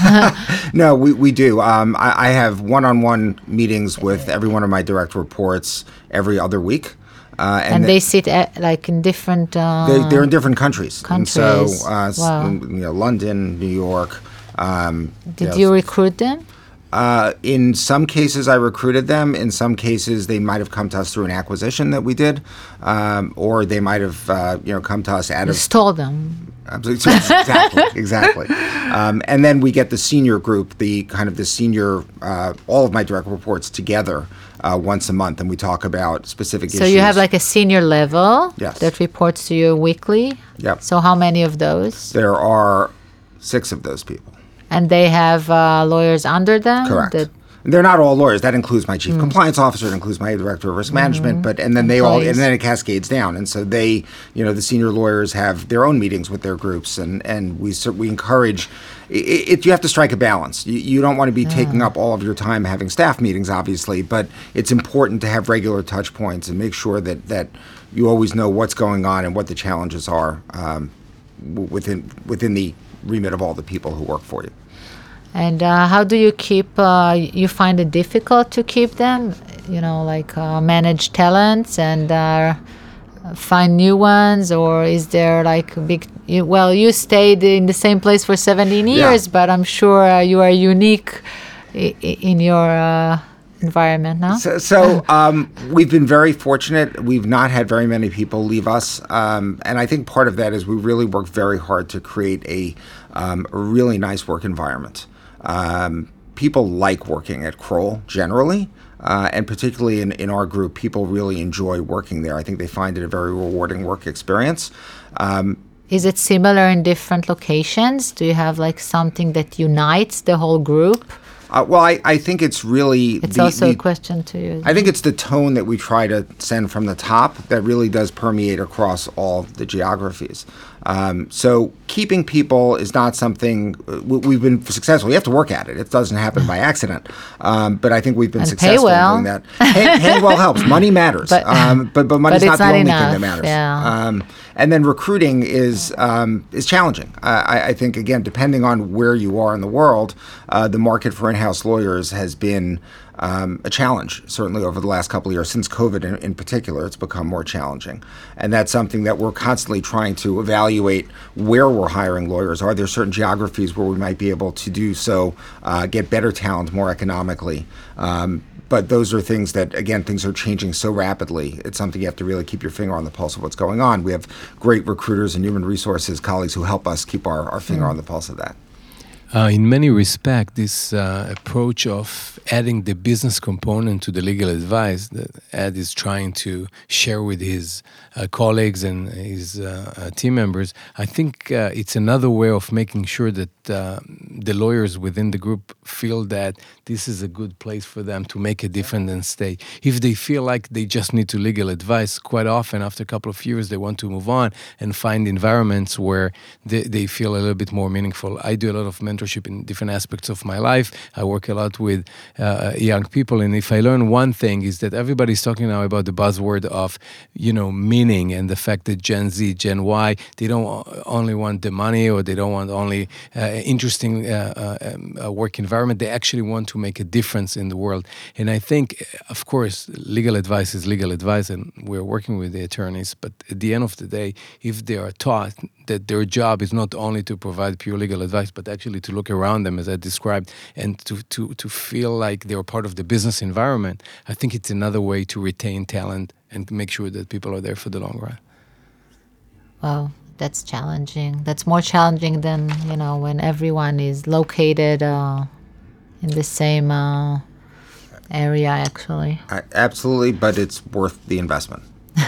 to? No, we, we do. Um, I, I have one-on-one meetings with every one of my direct reports every other week. Uh, and, and they sit at, like in different... Uh, they, they're in different countries. Countries. And so, uh, wow. you know, London, New York. Um, Did you, know, you recruit them? Uh, in some cases, I recruited them. In some cases, they might have come to us through an acquisition that we did, um, or they might have, uh, you know, come to us out you of... stole them. Absolutely, exactly, exactly. Um, and then we get the senior group, the kind of the senior, uh, all of my direct reports together uh, once a month, and we talk about specific so issues. So you have like a senior level yes. that reports to you weekly? Yep. So how many of those? There are six of those people. And they have uh, lawyers under them? Correct. that- They're not all lawyers. That includes my chief compliance officer. It includes my director of risk management. But and then they all Employees. and then it cascades down. And so they, you know, the senior lawyers have their own meetings with their groups, and and we cer- we encourage. It, it, you have to strike a balance. You, you don't want to be taking up all of your time having staff meetings, obviously, but it's important to have regular touch points and make sure that that you always know what's going on and what the challenges are um, w- within within the remit of all the people who work for you. And uh, how do you keep, uh, you find it difficult to keep them, you know, like uh, manage talents and uh, find new ones? Or is there like a big, you, well, you stayed in the same place for seventeen years, Yeah. but I'm sure uh, you are unique i- i- in your uh, environment, no? So, so um, we've been very fortunate. We've not had very many people leave us. Um, and I think part of that is we really work very hard to create a, um, a really nice work environment. Um, people like working at Kroll generally, uh, and particularly in, in our group, people really enjoy working there. I think they find it a very rewarding work experience. Um, Is it similar in different locations? Do you have like something that unites the whole group? uh, well, I, I think it's really... It's the- also the- a question to you. I think it's the tone that we try to send from the top that really does permeate across all the geographies. Um, so keeping people is not something uh, we- we've been successful. You have to work at it. It doesn't happen by accident. Um, but I think we've been And pay successful well. in doing that. Pay, paying well helps. Money matters. But- um, but but money's but not it's the not only enough, thing that matters. yeah. Um, and then recruiting is um, is challenging. Uh, I, I think again, depending on where you are in the world, uh, the market for in-house lawyers has been um, a challenge. Certainly over the last couple of years, since COVID in, in particular, it's become more challenging. And that's something that we're constantly trying to evaluate where we're hiring lawyers. Are there certain geographies where we might be able to do so, uh, get better talent more economically? Um, But those are things that, again, things are changing so rapidly. It's something you have to really keep your finger on the pulse of what's going on. We have great recruiters and human resources colleagues who help us keep our, our finger on the pulse of that. Uh, in many respects, this uh, approach of adding the business component to the legal advice that Ed is trying to share with his uh, colleagues and his uh, uh, team members, I think uh, it's another way of making sure that uh, the lawyers within the group feel that this is a good place for them to make a difference and stay. If they feel like they just need to legal advice, quite often after a couple of years they want to move on and find environments where they, they feel a little bit more meaningful. I do a lot of mentorship in different aspects of my life. I work a lot with uh, young people, and if I learn one thing is that everybody's talking now about the buzzword of, you know, meaning, and the fact that Gen Z, Gen Y, they don't only want the money, or they don't want only uh, interesting uh, uh, um, uh, work environment. They actually want to make a difference in the world. And I think, of course, legal advice is legal advice, and we're working with the attorneys. But at the end of the day, if they are taught that their job is not only to provide pure legal advice, but actually to look around them, as I described, and to, to, to feel like they're part of the business environment, I think it's another way to retain talent and make sure that people are there for the long run. Wow, that's challenging. That's more challenging than, you know, when everyone is located uh, in the same uh, area, actually. I, absolutely, but it's worth the investment.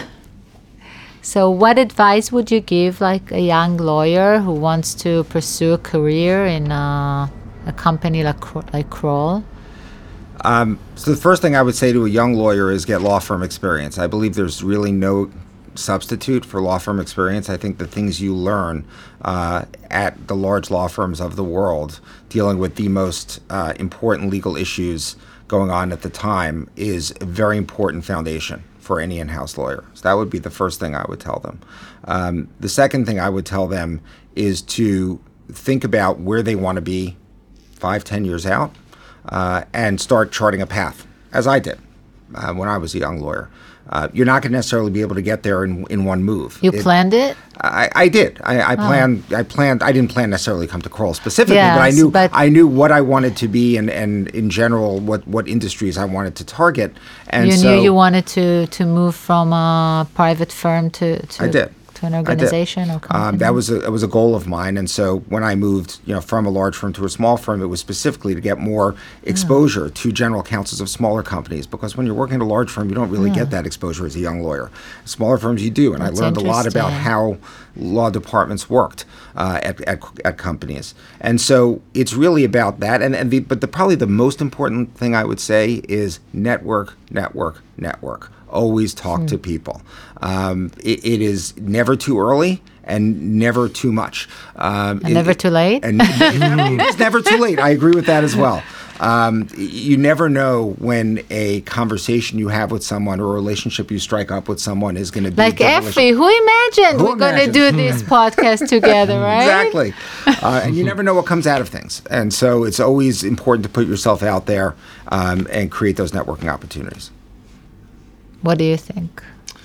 So what advice would you give like a young lawyer who wants to pursue a career in uh, a company like like Kroll? Um, so the first thing I would say to a young lawyer is get law firm experience. I believe there's really no substitute for law firm experience. I think the things you learn uh, at the large law firms of the world, dealing with the most uh, important legal issues going on at the time, is a very important foundation for any in-house lawyer. So that would be the first thing I would tell them. Um, the second thing I would tell them is to think about where they want to be five, ten years out, uh, and start charting a path, as I did uh, when I was a young lawyer. Uh, you're not going to necessarily be able to get there in, in one move. You It- planned it? I, I did. I, I planned. I planned. I didn't plan necessarily to come to Kroll specifically, but I Yes, knew. but- I knew what I wanted to be, and, and in general, what, what industries I wanted to target. And You so knew you wanted to, to move from a private firm to, to I did. to an organization or company? Um, that was a it was a goal of mine, and so when I moved, you know, from a large firm to a small firm, it was specifically to get more exposure oh. to general counsels of smaller companies. Because when you're working at a large firm, you don't really yeah. get that exposure as a young lawyer. Smaller firms, you do, and That's I learned a lot about how law departments worked uh, at, at at companies, and so it's really about that. And and the, but the probably the most important thing I would say is network, network, network. Always talk mm. to people. Um, it, it is never too early and never too much. Um, and it, never too late? And it's never too late. I agree with that as well. Um, you never know when a conversation you have with someone or a relationship you strike up with someone is going to be like Effie. Who imagined who we're going to do this podcast together, right? Exactly. Uh, and you never know what comes out of things. And so it's always important to put yourself out there um, and create those networking opportunities. What do you think?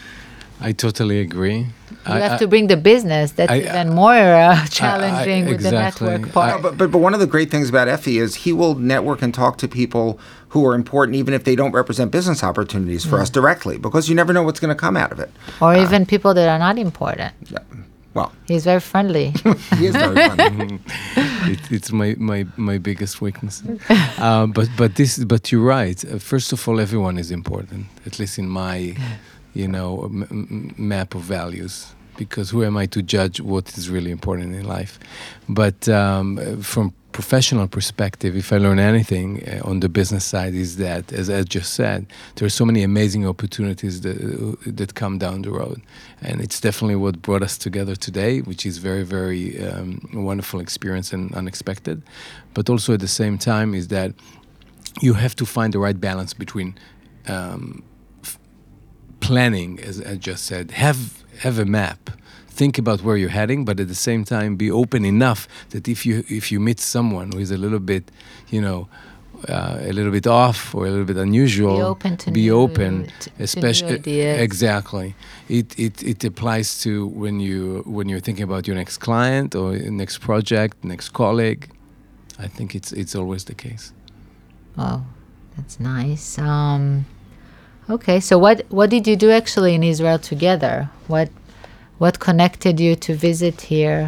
I totally agree. You I, have I, to bring the business. That's I, even more uh, challenging I, I, with exactly. the network part. No, but, but but one of the great things about Effie is he will network and talk to people who are important, even if they don't represent business opportunities for mm. us directly, because you never know what's going to come out of it. Or uh, even people that are not important. Yeah. Well, he's very friendly. He is very friendly. it, it's my, my, my biggest weakness. Uh, but but this but you're right. Uh, first of all, everyone is important. At least in my, you know, m- m- map of values. Because who am I to judge what is really important in life? But um, from professional perspective, if I learn anything uh, on the business side, is that, as Ed just said, there are so many amazing opportunities that uh, that come down the road, and it's definitely what brought us together today, which is very, very um, wonderful experience and unexpected. But also at the same time, is that you have to find the right balance between um, f- planning, as Ed just said, have have a map. Think about where you're heading, but at the same time, be open enough that if you if you meet someone who is a little bit, you know, uh, a little bit off or a little bit unusual, be open to be new, open, to, especially to new ideas. Exactly. It it it applies to when you when you're thinking about your next client or next project, next colleague. I think it's it's always the case. Oh, that's nice. Um, okay, so what what did you do actually in Israel together? What What connected you to visit here?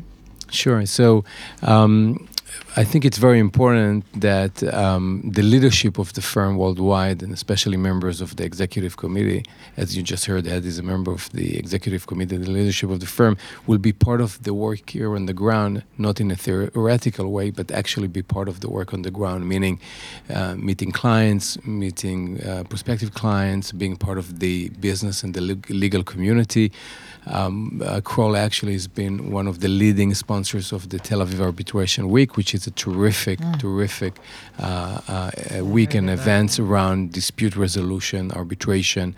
Sure. So um, I think it's very important that um, the leadership of the firm worldwide, and especially members of the executive committee, as you just heard, Ed is a member of the executive committee, the leadership of the firm, will be part of the work here on the ground, not in a theoretical way, but actually be part of the work on the ground, meaning uh, meeting clients, meeting uh, prospective clients, being part of the business and the le- legal community. Um, uh, Kroll actually has been one of the leading sponsors of the Tel Aviv Arbitration Week, which is a terrific, mm. terrific uh, uh, week and events around dispute resolution, arbitration.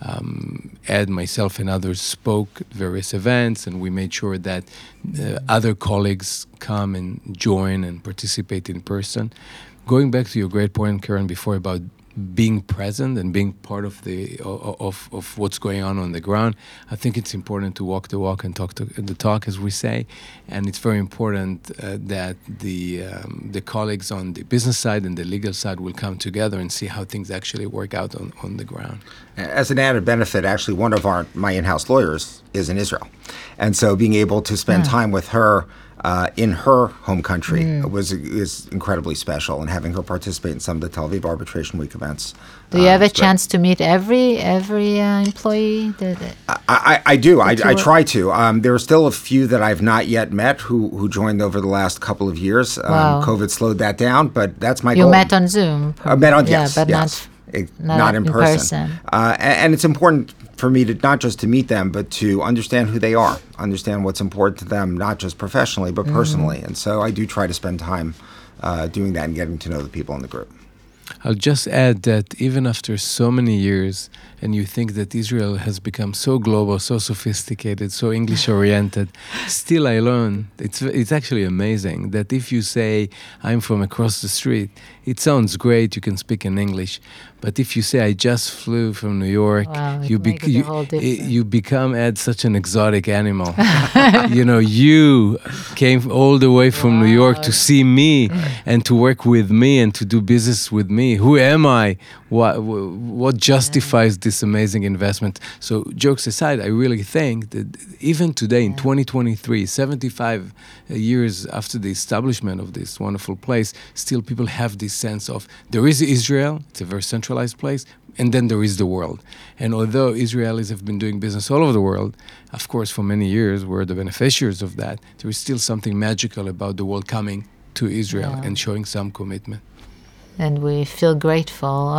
Um, Ed, myself, and others spoke at various events, and we made sure that uh, other colleagues come and join and participate in person. Going back to your great point, Karen, before about being present and being part of the of of what's going on on the ground, I think it's important to walk the walk and talk to the talk, as we say, and it's very important uh, that the um, the colleagues on the business side and the legal side will come together and see how things actually work out on, on the ground. As an added benefit, actually, one of our my in-house lawyers is in Israel, and so being able to spend yeah. time with her Uh, in her home country mm. was is incredibly special, and having her participate in some of the Tel Aviv Arbitration Week events. Do you um, have a chance to meet every every uh, employee? That, that I, I, I do. I, I try to. Um, there are still a few that I've not yet met who, who joined over the last couple of years. Um, wow. COVID slowed that down, but that's my you goal. You met on Zoom? I met on, yeah, yes, but yes. not, it, not, not in, in person. person. Uh, and, and it's important for me to not just to meet them, but to understand who they are, understand what's important to them, not just professionally, but personally. Mm. And so I do try to spend time uh, doing that and getting to know the people in the group. I'll just add that even after so many years, and you think that Israel has become so global, so sophisticated, so English-oriented, still I learn, it's it's actually amazing that if you say, I'm from across the street, it sounds great, you can speak in English, but if you say, I just flew from New York, wow, you, bec- you, you become, Ed, such an exotic animal. You know, you came all the way from wow. New York to see me and to work with me and to do business with me? Who am I? What, what justifies this amazing investment? So jokes aside, I really think that even today in twenty twenty-three, seventy-five years after the establishment of this wonderful place, still people have this sense of there is Israel, it's a very centralized place, and then there is the world. And although Israelis have been doing business all over the world, of course, for many years, we're the beneficiaries of that, there is still something magical about the world coming to Israel Yeah. and showing some commitment. And we feel grateful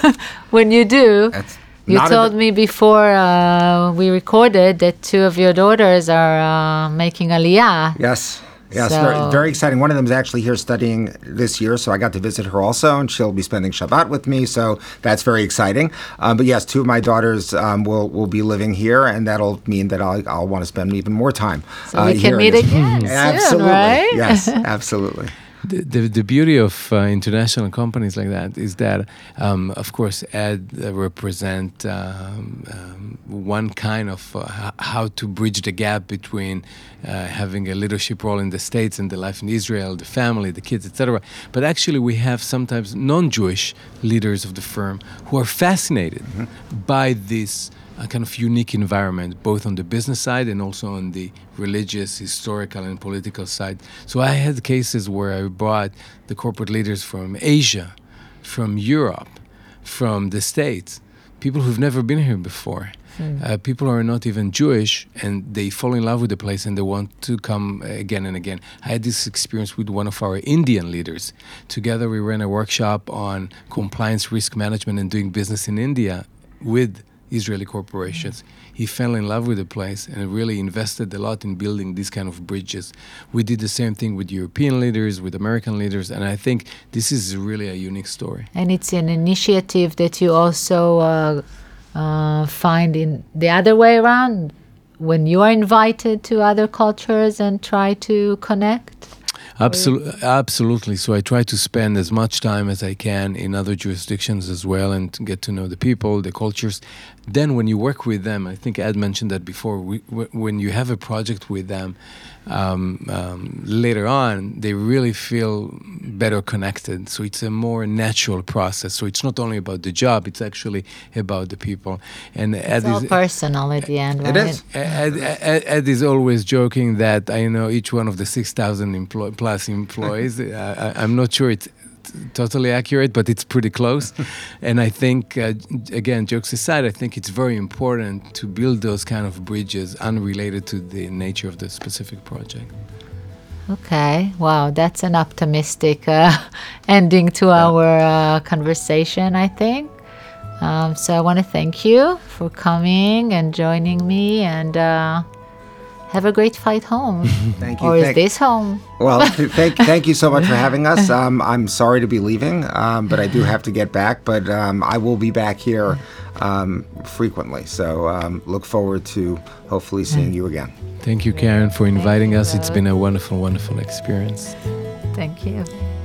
when you do. That's You not a- told me before uh, we recorded that two of your daughters are uh, making Aliyah. Yes. Yes, So- very, very exciting. One of them is actually here studying this year, so I got to visit her also, and she'll be spending Shabbat with me, so that's very exciting. Um, but yes, two of my daughters um, will will be living here, and that'll mean that I'll, I'll want to spend even more time. So we can here in meet this- again soon, Absolutely. right? Yes, absolutely. The, the, the beauty of uh, international companies like that is that, um, of course, Ed uh, represent um, um, one kind of uh, h- how to bridge the gap between uh, having a leadership role in the States and the life in Israel, the family, the kids, et cetera. But actually, we have sometimes non-Jewish leaders of the firm who are fascinated by this a kind of unique environment, both on the business side and also on the religious, historical, and political side. So I had cases where I brought the corporate leaders from Asia, from Europe, from the States, people who've never been here before. Uh, people who are not even Jewish, and they fall in love with the place and they want to come again and again. I had this experience with one of our Indian leaders. Together we ran a workshop on compliance risk management and doing business in India with Israeli corporations. He fell in love with the place and really invested a lot in building these kind of bridges. We did the same thing with European leaders, with American leaders, and I think this is really a unique story. And it's an initiative that you also uh, uh, find in the other way around, when you are invited to other cultures and try to connect. Absolutely, absolutely. So I try to spend as much time as I can in other jurisdictions as well and to get to know the people, the cultures. Then when you work with them, I think Ed mentioned that before, we, w- when you have a project with them, um, um, later on, they really feel better connected. So it's a more natural process. So it's not only about the job, it's actually about the people. And Ed It's all is, personal at the end, right? It is. Ed, Ed, Ed is always joking that I know each one of the six thousand employ- plus employees. uh, I, I'm not sure it's t- totally accurate, but it's pretty close. And I think, uh, again, jokes aside, I think it's very important to build those kind of bridges unrelated to the nature of the specific project. Okay, wow, that's an optimistic uh, ending to our uh, conversation, I think. Um, so I want to thank you for coming and joining me, and uh, have a great flight home. Thank you. Or is Thank- this home? Well, thank thank you so much for having us. Um, I'm sorry to be leaving, um, but I do have to get back. But um, I will be back here um, frequently. So um, look forward to hopefully seeing you again. Thank you, Karen, for inviting us. It's been a wonderful, wonderful experience. Thank you.